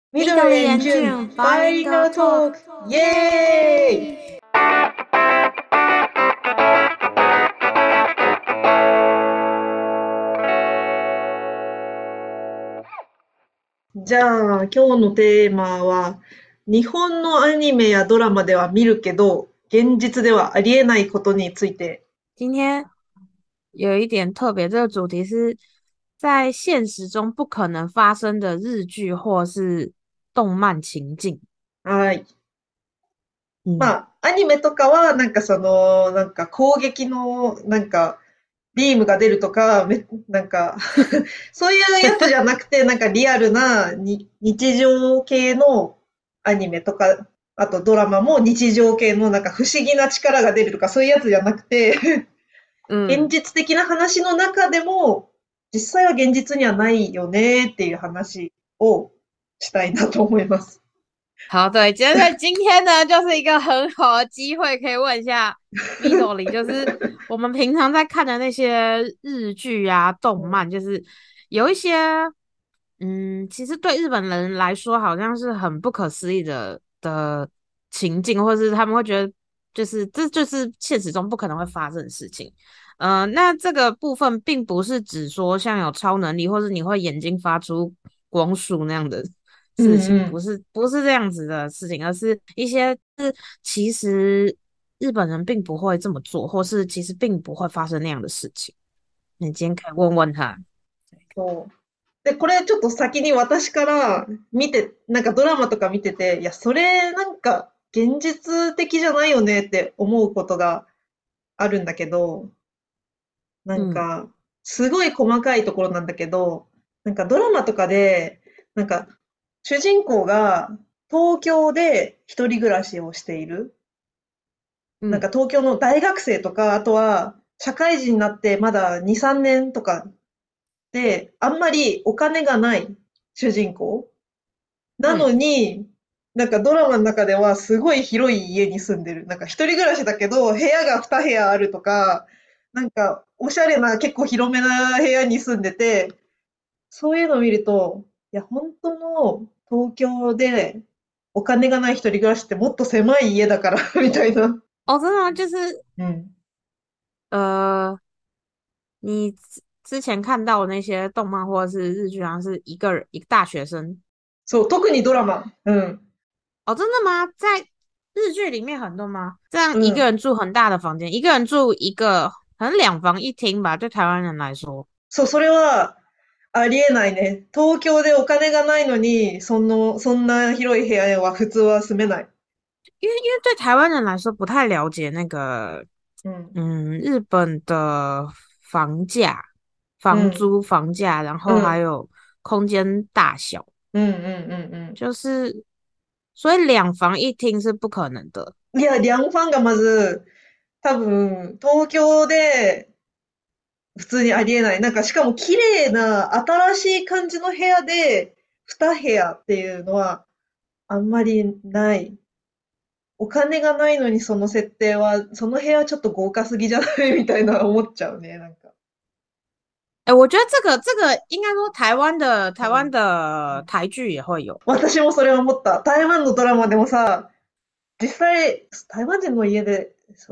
緑緑 and ジュ June ンバイリン Bilingual ガルトー Talk クイイエーイ。 エーイ。 じゃあ今日のテーマは日本のアニメやドラマでは見るけど現実ではありえないことについて。 今天有一点特别，这个主题是在现实中不可能发生的日剧或是动漫情境。 はい。ま嗯あアニメとかはなんか攻撃のビームが出るとかそういうやつじゃなくてなんかリアルな日常系のアニメとか、あとドラマも日常系のなんか不思議な力が出るとかそういうやつじゃなくて現嗯， 実的な話の中でも、実際は現実にはないよねっていう話をしたいなと思います。 好，对，今天呢，就是一个很好的机会，可以问一下 Midori，就是我们平常在看的那些日剧啊、动漫，就是有一些，其实对日本人来说，好像是很不可思议的情境，或是他们会觉得，就是这就是现实中不可能会发生的事情。那这个部分并不是指说像有超能力，或是你会眼睛发出光束那样的うん事情，不うん。 是不是这样子的事情，而是一些是其实日本人并不会这么做，或是其实并不会发生那样的事情。你今天可以问问他。 そう。で、これちょっと先に私から見て、なんかドラマとか見てて、いや、それなんか現実的じゃないよねって思うことがあるんだけど、なん嗯か、すごい細かいところなんだけど、なんかドラマとかで、なんか、主人公が東京で一人暮らしをしている。なんか嗯東京の大学生とか、あとは社会人になってまだ2、3年とかで、あんまりお金がない主人公なの嗯， に、なんかドラマの中ではすごい広い家に住んでる。なんか一人暮らしだけど、部屋が2部屋あるとか、なんかおしゃれな結構広めな部屋に住んでて、そういうのを見ると、いや、本当の東京でお金がない一人暮らしってもっと狭い家だからみたいな。 哦，真的吗？就是うん。 你之前看到的那些动漫或者是日剧，好像是一个大学生。 そう、特にドラマ。うん。 哦，真的吗？在日剧里面很多吗？这样一个うん。 人住很大的房间，一个人住一个，可能2房1厅吧，对台湾人来说。 そう、それはありえないね。東京でお金がないのに、そんな広い部屋は普通は住めない。 因为对台湾人来说不太了解那个， うん。 日本的房价、 うん。 房租、房价，然后还うん。 有空间大小， うんうんうんうん。 就是所以2房1厅是不可能的。 いや、リャンファンがまず、多分、東京で普通にありえない。なんか、しかも綺麗な、新しい感じの部屋で、2部屋っていうのは、あんまりない。お金がないのにその設定は、その部屋ちょっと豪華すぎじゃないみたいな思っちゃうね、なんか。 哎，我觉得这个应该说台湾うん。 的台剧也会有。 私もそれを思った。台湾のドラマでもさ、実際、台湾人の家で、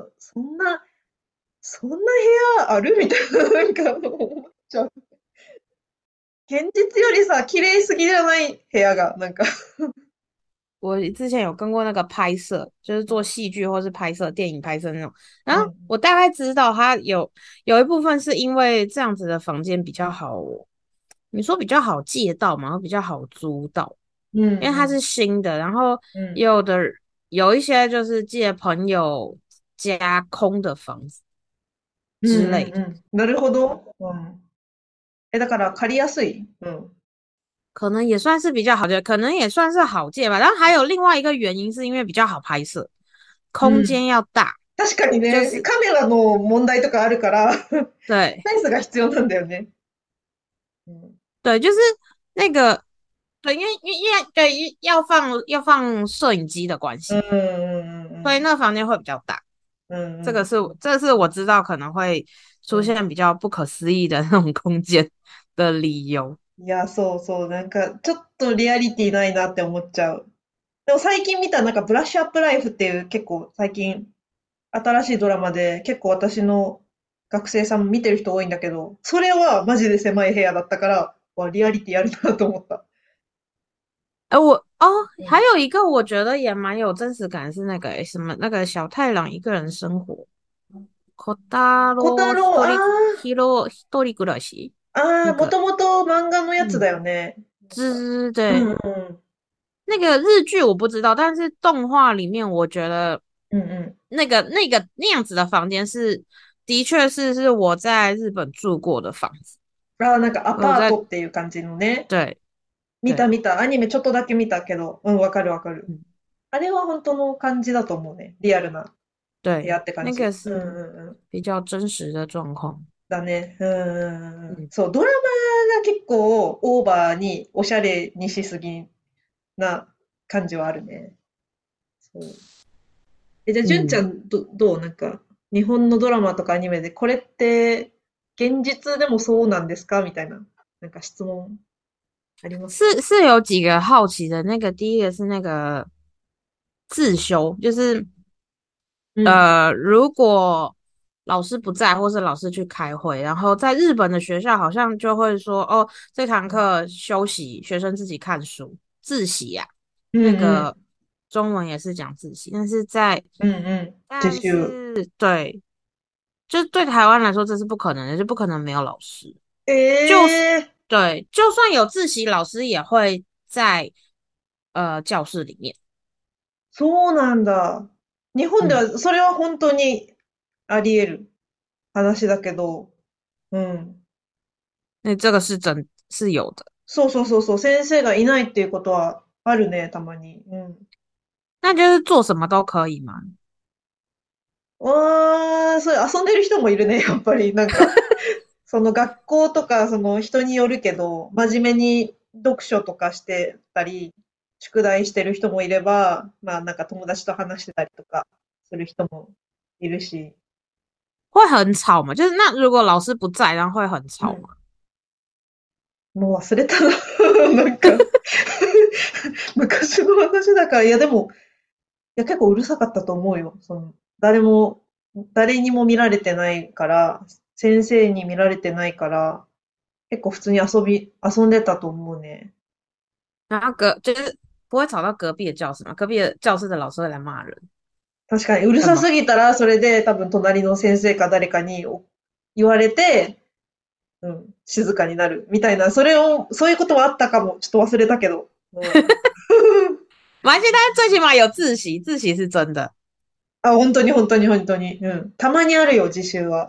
そんな部屋あるみたいな、なんか思っちゃう。現実よりさ、綺麗すぎじゃない部屋が、なんか。 我之前有跟过那个拍摄，就是做戏剧或是拍摄电影拍摄那种，然后うん。 我大概知道它有一部分是因为这样子的房间比较好，你说比较好借到嘛，比较好租到， うん、 因为它是うん。 新的，然后うん。 有的有一些就是借朋友家空的房子うん之类的。 うんうん。なるほど。うん。だから借りやすい。うん。 可能也算是比较好的，可能也算是好借吧。然后还有另外一个原因，是因为比较好拍摄，空うん。 间要大， 確かにね、 就是カメラの問題とかあるから、ス对ペースが必要なんだよね。うん。 对，就是那个对，因为要放摄影机的关うん系，所以うん那个房间会比较大。 うんうん。うん。 这是我知道可能会出うん。 现比较不可思议的那种空间的理由。 いや、そうそう、なんか、ちょっとリアリティないなって思っちゃう。でも最近見たなんかブラッシュアップライフっていう結構最近新しいドラマで結構私の学生さんも見てる人多いんだけど、それはマジで狭い部屋だったから、わ、リアリティあるなと思った。 还うん。 有一个我觉得也蛮有真实感，是那个什么那个小太郎一个人生活，小太小太郎、 一人暮らしもともと漫画のやつだ嗯， よね。 对， うんうん。 那个日剧我不知道，但是动画里面我觉得うんう那样子的房间的确是我在日本住过的房子， ん。なんかアパート我有在っていう感じのね。 对对， 見た見た。アニメちょっとだけ見たけど、うん、わかるわかる。 嗯あれは本当の感じだと思うね。リアルな部屋对， って感那个じ。うん是うんうん。 比较真实的状况， だね。うんうんうん。 嗯そう、ドラマが結構オーバーにおしゃれにしすぎな感じはあるね。そう。じゃあ、純ちゃ嗯。 ん、どうなんか、日本のドラマとかアニメで、これって現実でもそうなんですかみたいな、なんか質問ありますか？ 是有几个好奇的，那个第一个是那个自修，就是うん。 如果老師不在，或是老師去开会，然后在日本的学校好像就会说，哦，这堂课休息，学生自己看书，自习呀、 うんうん。 那个中文也是讲自习， うんうん。自習。 对，就对台湾来说这是不可能的，就不可能没有老师。就是ええ、 对，就算有自习，老师也会在教室里面。 そうなんだ。日本で嗯， は、それは本当にあり得る話だけど、うん。 那这个是有的。 そうそうそうそう、先生がいないっていうことはあるね、たまに。うん。 那就是做什么都可以嘛。 そういう遊んでる人もいるね、やっぱり。なんか、その学校とか、その人によるけど、真面目に読書とかしてたり、宿題してる人もいれば、まあなんか友達と話してたりとかする人もいるし。 会很吵嘛？就是那如果老师不在，然后会很うん。 吵嘛？ もう忘れたな。なんか昔の話だから、いやでも、いや結構うるさかったと思うよ。誰にも見られてないから、先生に見られてないから、結構普通に遊んでたと思うね。 然后就是不会吵到隔壁的教室嘛？隔壁的教室的老师会来骂人， 確かに、うるさ会吗？ すぎたら、それで多分隣の先生か誰かに言われて、うん、静かになるみたいな、そういうことはあったかも。ちょっと忘れたけど。うん。 没关系，但是最起码有自习，自习是真的。 あ、本当に本当に本当に。うん。たまにあるよ、自習は。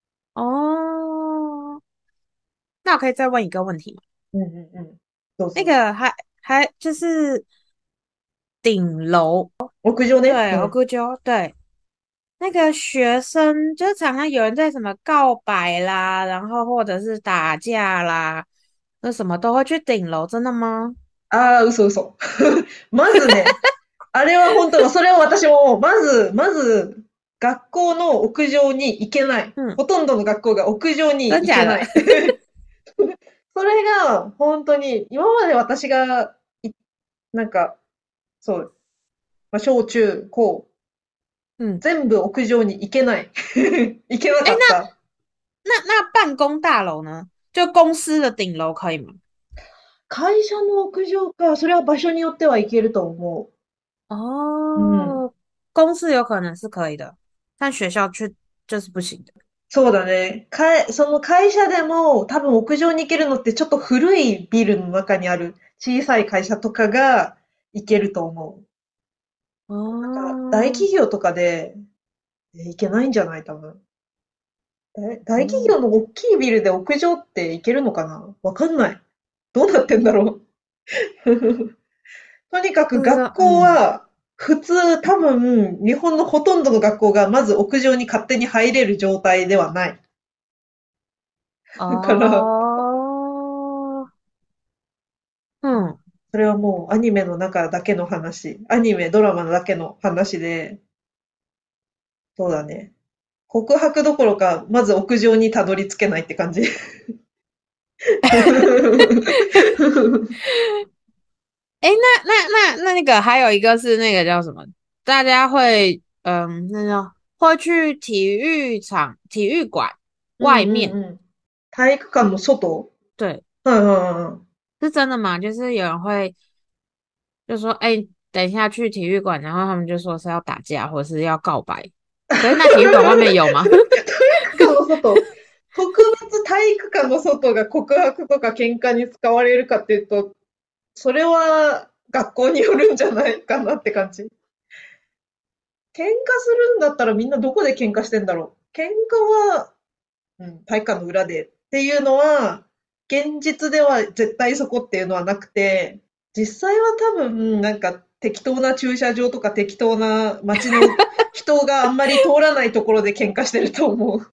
哦，那我可以再问一个问题吗？ うんうんうん。そう那そう。 个还就是顶楼， 屋上ね。 对， うん。 我估计对，那个学生就常常有人在什么告白啦，然后或者是打架啦，那什么都会去顶楼，真的吗？ ああ、嘘嘘。まずね、あれは本当、それを私も、まず、学校の屋上に行けない。 嗯， ほとんどの学校が屋上に真假的？ 行けない。それが、本当に、今まで私が、なんか、そう、まあ、小中高、 嗯， 全部屋上に行けない。行けな哎， かった。 那办公大楼呢？就公司的顶楼可以吗？ 会社の屋上か、それは場所によっては行けると思う。うん。 哦，公司有可能是可以的，但学校却就是不行的。 そうだね。その会社でも多分屋上に行けるのってちょっと古いビルの中にある小さい会社とかが行けると思う。なんか大哦， 企業とかで行けないんじゃない多分。大企哦， 業の大きいビルで屋上って行けるのかなわかんない。どうなってんだろう。とにかく不知道， 学校嗯， は普通多分日本のほとんどの学校がまず屋上に勝手に入れる状態ではない。だから、 哦，嗯。 それはもうアニメの中だけの話。アニメ、ドラマだけの話で、そうだね。告白どころか、まず屋上にたどり着けないって感じ。 哎，那个还有一个是那个叫什么？大家会那叫会去体育场、体育馆うん外面， うんうん。体育館の外。 对， はいはいはい。 是真的吗？就是有人会就说，哎，等一下去体育馆，然后他们就说是要打架或者是要告白。可是那体育馆外面有吗？ 体育館の外。特別体育館の外が告白とか喧嘩に使われるかっていうと、それは学校によるんじゃないかなって感じ。喧嘩するんだったらみんなどこで喧嘩してんだろう。喧嘩は、体育館の裏でっていうのは、現実では絶対そこっていうのはなくて、実際は多分、なんか適当な駐車場とか適当な街の人があんまり通らないところで喧嘩してると思う。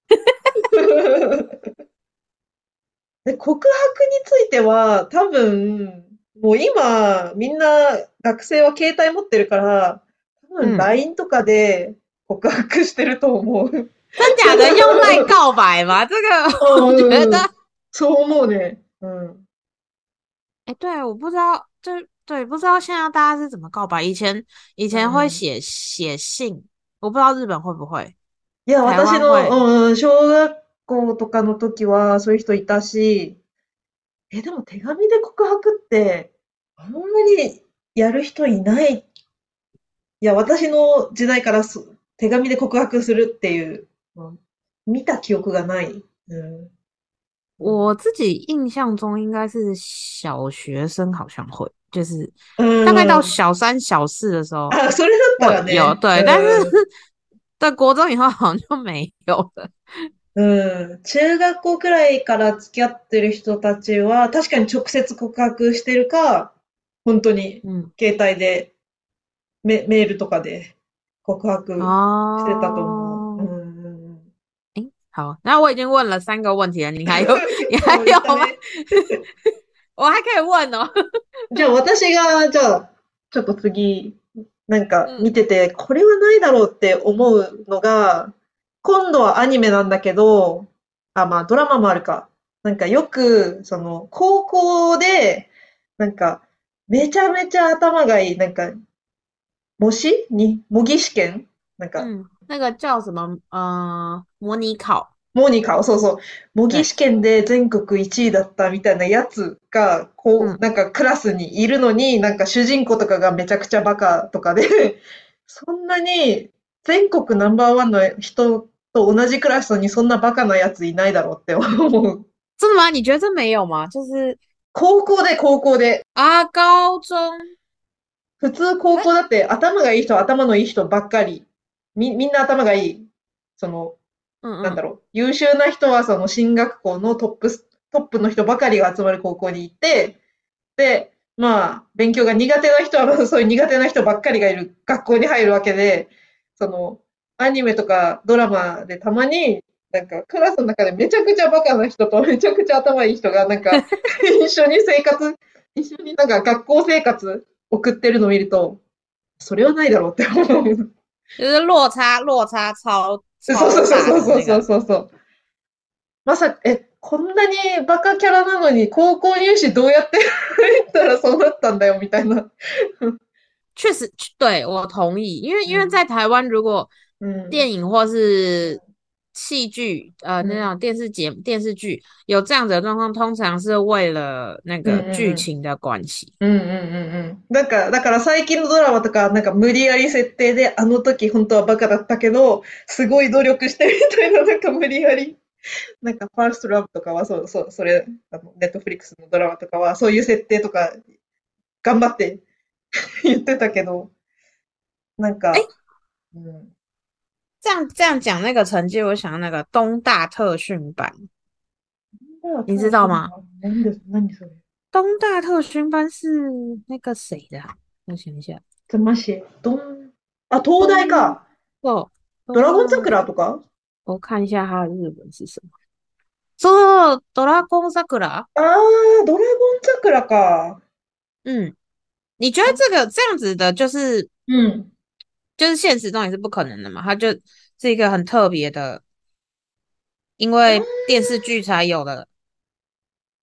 で、告白については、多分、もう今、みんな学生は携帯持ってるから、多分嗯， LINE とかで告白してると思う。 真假的用赖告白吗？这个我觉得， うん、そう思うね。うん。 哎，对，我不知道，对，不知道现在大家是怎么告白。以前会うん。 写信，我不知道日本会不会， いや、 台私湾会。 の、小学校とかの時はそういう人いたし、でも手紙で告白って、あんまりやる人いない。いや、私の時代から手紙で告白するっていう、見た記憶がない。うん。 我自己印象中应该是小学生好像会，就是う大概到ん。 小三、小四的时候あ、それだった会有， らね。 对，但是うん。 在国中以后好像就没有了。 うん。中学校くらいから付き合ってる人たちは、確かに直接告白してるか、本当に嗯， 携帯でメールとかで告白してたと思う。う哦， ん。 诶，好，那我已经问了3个问题了，你还有你还もう言った有吗？ ね。 我还可以问哦。 じゃあ私が、じゃあ、ちょっと次、なんか嗯見てて、これはないだろうって思うのが、今度はアニメなんだけど、まあドラマもあるか。なんかよく、高校で、なんか、めちゃめちゃ頭がいい、なんか、模擬試験なんか、 嗯，那个叫什么？模拟考。 模擬か、そうそう。模擬对， 試験で全国1位だったみたいなやつが、 嗯， なんかクラスにいるのに、なんか主人公とかがめちゃくちゃバカとかで、そんなに全国ナンバーワンの人と同じクラスにそんなバカなやついないだろうって思う。 真的吗？你觉得这没有吗？就是高校で。 啊，高中。 普通高可校だって頭がいい人は頭のいい人ばっかり。みんな頭がいい。その、 嗯嗯なんだろう、優秀な人はその進学校のトップの人ばかりが集まる高校に行って、で、まあ、勉強が苦手な人はまずそういう苦手な人ばっかりがいる学校に入るわけで、その、アニメとかドラマでたまに、なんかクラスの中でめちゃくちゃバカな人とめちゃくちゃ頭いい人がなんか一緒になんか学校生活送ってるのを見ると、それはないだろうって思う。 就是落差超そう超そうそうそう大的那个。 そうそうそう。まさか、こんなにバカキャラなのに高校入試どうやって入ったらそうなったんだよ、みたいな。 确实，对，我同意，因为在うん。 台湾，如果うん。 电影或是戏剧， うん。 那种电視剧有这样子的状況，通常是为了那うんう个剧ん情的关系。 うん。うんうんうんうん。だから最近のドラマとか、なんか無理やり設定で、あの時本当はバカだったけど、すごい努力してみたいな、なんか無理やり。なんかファーストラブとかは、それ、ネットフリックスのドラマとかは、そういう設定とか、頑張って言ってたけど、なん哎， か、うん。 这样讲那个成绩，我想到那个东大特训班，你知道吗？ 何それ。 东大特训班是那个谁的啊？我想一下， つまし、東大东か。 哦ドラゴン东， 桜とか。 我看一下它的日文是什么。そう、ドラゴン桜。 ドラゴン桜か。 嗯，你觉得这样子的， うん。 就是现实中也是不可能的嘛？它就是一个很特别的，因为电视剧才有的。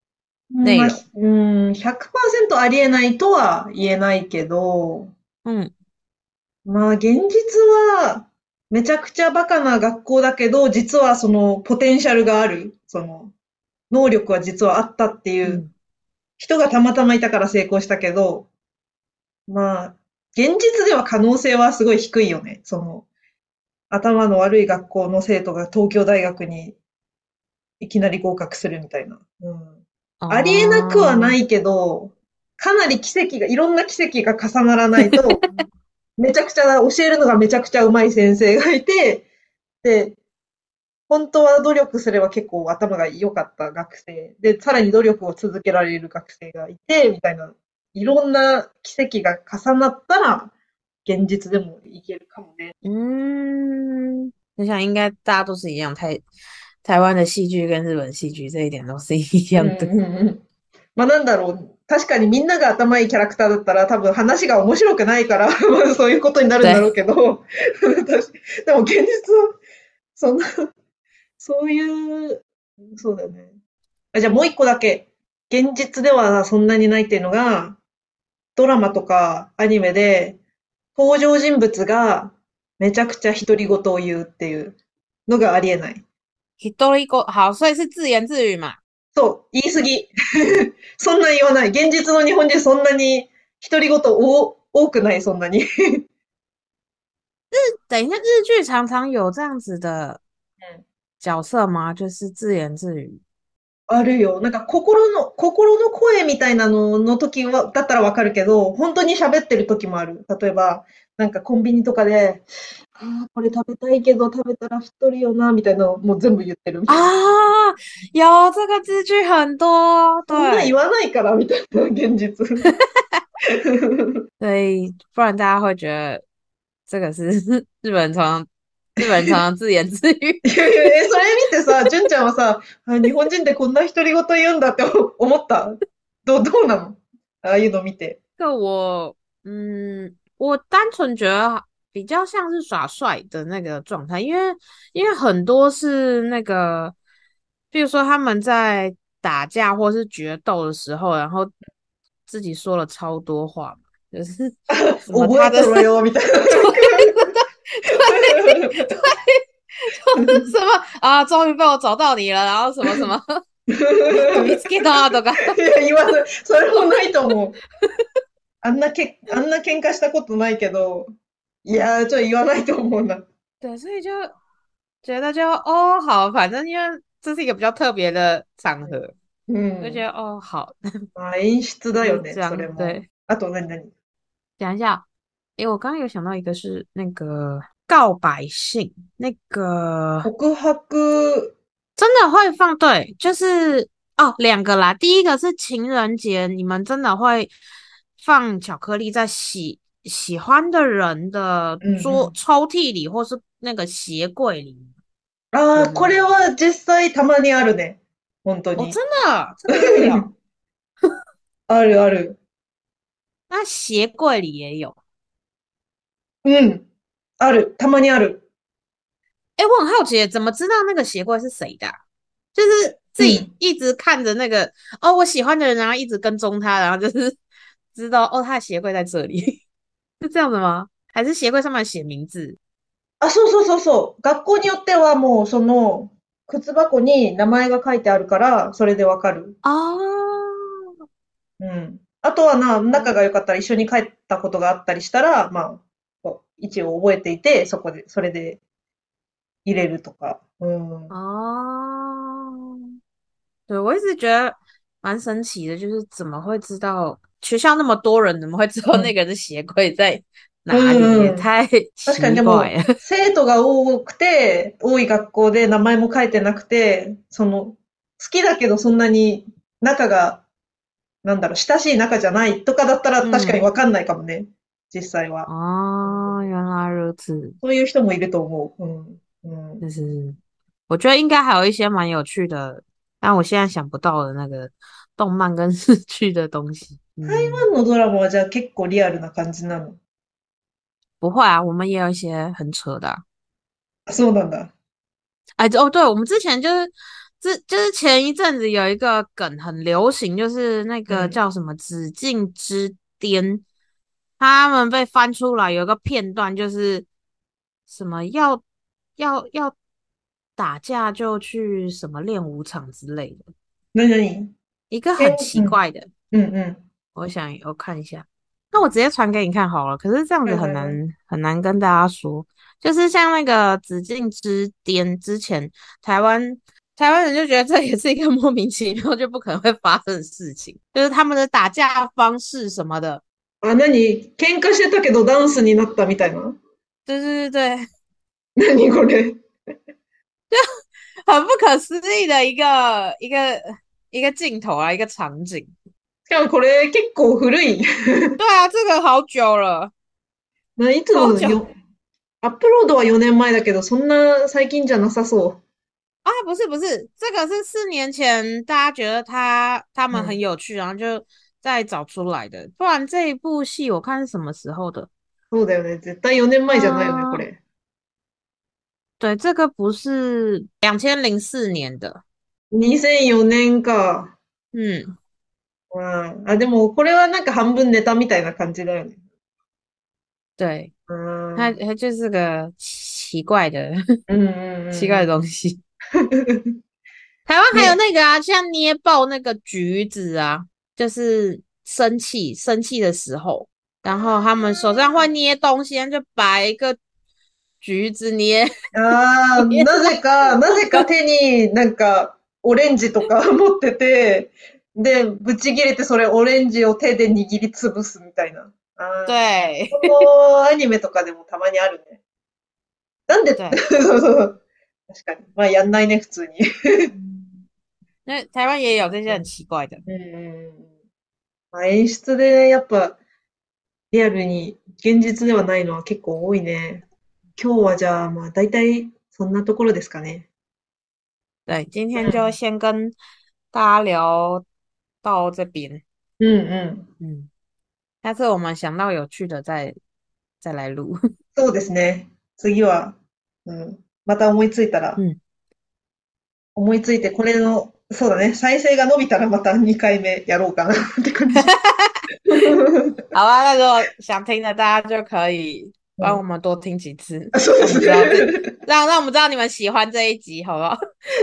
まあ、 内容。 100%ありえないとは言えないけど、 嗯まあ、現実は、めちゃくちゃバカな学校だけど、実はその、ポテンシャルがある、その、能力は実はあったっていう嗯人がたまたまいたから成功したけど、まあ、現実では可能性はすごい低いよね。その、頭の悪い学校の生徒が東京大学にいきなり合格するみたいな。ありえなくはな哦， いけど、かなりいろんな奇跡が重ならないと、めちゃくちゃ、教えるのがめちゃくちゃ上手い先生がいて、で、本当は努力すれば結構頭が良かった学生で、さらに努力を続けられる学生がいて、みたいな、いろんな奇跡が重なったら、現実でもいけるかもね。 嗯，我想应该大家都是一样，台湾的戏剧跟日本戏剧这一点都是一うん样的。 うんうん。まあなんだろう。確かにみんなが頭いいキャラクターだったら多分話が面白くないから、まあそういうことになるんだろう对， けど、でも現実は、そんな、そういう、そうだよね。じゃあもう一個だけ。現実ではそんなにないっていうのが、ドラマとかアニメで登場人物がめちゃくちゃ独り言を言うっていうのがありえない。 一人一个好，所以是自言自语嘛。 そう、言い過ぎ。そんな言わない。現実の日本人そんなに独り言多くない、そんなに。 等一下，日剧常常有这样子的うん。 角色吗？就是自言自语。 あるよ。なんか心の声みたいなのの時は、だったらわかるけど、本当に喋ってる時もある。例えば、なんかコンビニとかで、ああ、これ食べたいけど食べたら太るよな、みたいなのもう全部言ってるみたいな。 啊，有这个字句很多， そんな言对， わないから、みたいな、現実。 所以不然大家会觉得这个是日本人常常自言自语。 いやいや、それ見てさ、純ちゃんはさ、日本人ってこんな独り言言うんだって思った？どうなの？ああいうの見て。 我单纯觉得比较像是耍帅的那个状态，因为很多是那个，比如说他们在打架或是决斗的时候，然后自己说了超多话嘛，就是什么覚え他的てろよ、みたいな。 对，就是什么啊，终于被我找到你了，然后什么什么見つけたとか。 いや、言わない。それもないと思う。あんな喧嘩したことないけど、いやー、言わないと思うな。 对，所以就觉得就哦好，反正因为这是一个比较特别的场合， う我就觉得ん。 哦好， まあ、演出だ就よね、それ是这样。 も。 对， あと何？ 讲一下，诶，我刚刚有想到一个是那个告白信，那个告白、 真的会放，对，就是哦两个啦，第一个是情人节，你们真的会放巧克力在喜欢的人的うんうん。 抽屉里，或是那个鞋柜里ああ、こ有吗？ れは実際たまにあるね。本当哦， に。 真的会有。 あるある。 那鞋柜里也有。 うん。ある。たまにある。 哎，我很好奇，怎么知道那个鞋柜是谁的啊？就是自己うん。 一直看着那个哦，我喜欢的人，然后一直跟踪他，然后就是知道哦，他的鞋柜在这里，是这样的吗？还是鞋柜上面写名字？ あ、そうそうそうそう。学校によってはもうその、靴箱に名前が書いてあるから、それでわかる。 哦うん。あとは仲が良かったら一緒に帰ったことがあったりしたら、まあ、一応覚えていて、それで入れるとか。うん。 哦，对，我一直觉得蛮神奇的，就是怎么会知道学校那么多人，怎么会知道うん。 那个人的鞋柜在う哪里？ んうん。 也太確かに奇でも、 怪了。 生徒が多い学校で名前も書いてなくて、好きだけどそんなに仲が、親しい仲じゃないとかだったら確かに嗯， わかんないかもね。実際は。うん。 哦，原来如此。 そういう人もいると思う。うん。うん。 就是我觉得应该还有一些蛮有趣的，但我现在想不到的那个动漫跟日剧的东西。嗯， 台湾のドラマはじゃあ結構リアルな感じなの？ 不会啊，我们也有一些很扯的啊。 あ、そうなんだ。 哎，哦，对，我们之前就是就是前一阵子有一个梗很流行，就是那个嗯。 叫什么《紫禁之巅》，他们被翻出来有一个片段，就是什么要打架就去什么练武场之类的， 何々 一个え、 很奇うん。 怪的。 うんうん。 我看一下，那我直接传给你看好了。可是这样子很难はいはいはい。 很难跟大家说，就是像那个紫禁之巅之前，台湾台湾人就觉得这也是一个莫名其妙就不可能会发生的事情，就是他们的打架方式什么的， あ、喧嘩してたけどダンスになったみたいな。 对， これ。 很不可思议的一个镜头啊，一个场景。 しかもこれ結構古い。 对啊，这个好久了， いつ好久。 のアップロードは4年前だけど、そんな最近じゃなさそ啊，不是，这个是4年前大家觉得他们う。うん。 很有趣，然后就再找出来的。不然这一部戏我看是什么时候的？ そうだよね。絶対4年前じゃないよね、こ嗯、 れ。 对，这个不是2004年的。 2004年か。 嗯， うん。あ、でもこれはなんか半分ネタみたいな感じだよね。 对， うん。 它就是个奇怪的うんうん奇怪的うんうん。 东西。台湾还有ね。 那个啊，像捏爆那个橘子啊，就是生气的时候，然后他们手上会捏东西，就把一个橘子捏ああ、 捏なぜか手になんかオレンジとか持ってて、で、ぶち切れてそれオレンジを手で握りつぶすみたいな。ああ、 对このアニメとかでもたまにあるね。なんで、 对， そうそうそう確かに。まあやんないね、普通に。 那台湾也有这些很奇怪的。 うん。まあ、演出でやっぱリアルに現実ではないのは結構多いね。今日はじゃあまあ大体そんなところですかね。 对，今天就うん。 先跟大家聊到这边， うんうん。 嗯，下次我们想到有趣的再来录。 そうですね。次は、うん。また思いついたら、 嗯， 思いついてこれの、そうだね。再生が伸びたらまた2回目やろうかなって感じ。 好吧，那如果想听的，大家就可以帮我うん。 们多听几次， あ、そうです让我们知道ね。 让我们知道你们喜欢这一集，好不好？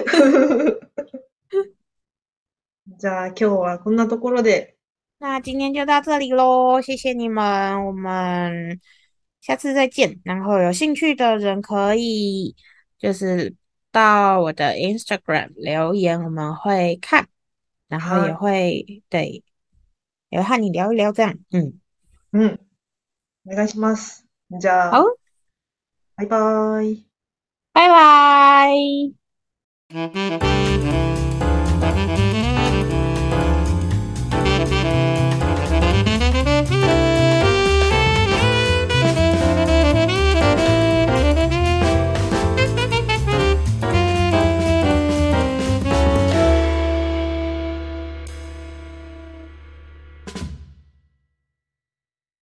じゃあ今日はこんなところで。 那今天就到这里喽，谢谢你们，我们下次再见。然后有兴趣的人可以就是到我的 Instagram 留言，我们会看，然后也はい。 会对，也会和你聊一聊这样。嗯， うん。お願いします。じゃ好， あ、バイバーイ。 拜拜。